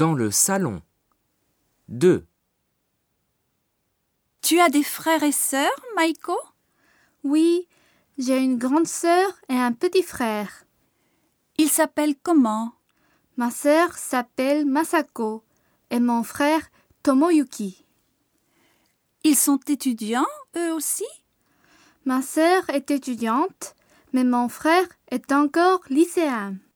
Dans le salon. 2. Tu as des frères et sœurs, Maiko? Oui, j'ai une grande sœur et un petit frère. Ils s'appellent comment? Ma sœur s'appelle Masako et mon frère Tomoyuki. Ils sont étudiants, eux aussi? Ma sœur est étudiante, mais mon frère est encore lycéen.